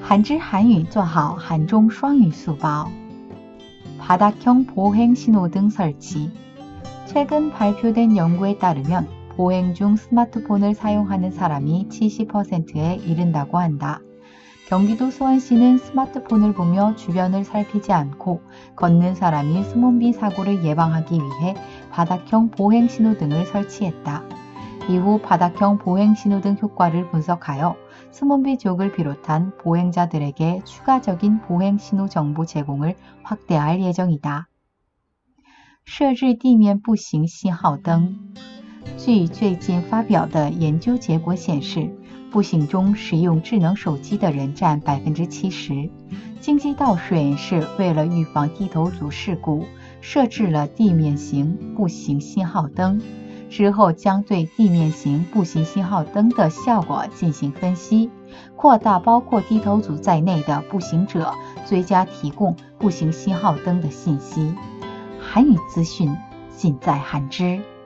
한知韩语做好韩中双语速报。 바닥형 보행 신호등 설치. 최근 발표된 연구에 따르면 보행 중 스마트폰을 사용하는 사람이 70%에 이른다고 한다. 경기도 수원시는 스마트폰을 보며 주변을 살피지 않고 걷는 사람이 스몬비 사고를 예방하기 위해 바닥형 보행 신호등을 설치했다. 이후 바닥형 보행 신호등 효과를 분석하여 스몬비 지역을 비롯한 보행자들에게 추가적인 보행 신호 정보 제공을 확대할 예정이다. 设置地面步行信号灯。据最近发表的研究结果显示，步行中使用智能手机的人占 70%。 京畿道水市为了预防低头族事故，设置了地面型步行信号灯。之后将对地面型步行信号灯的效果进行分析，扩大包括低头族在内的步行者，最佳提供步行信号灯的信息。韩语资讯尽在韩知。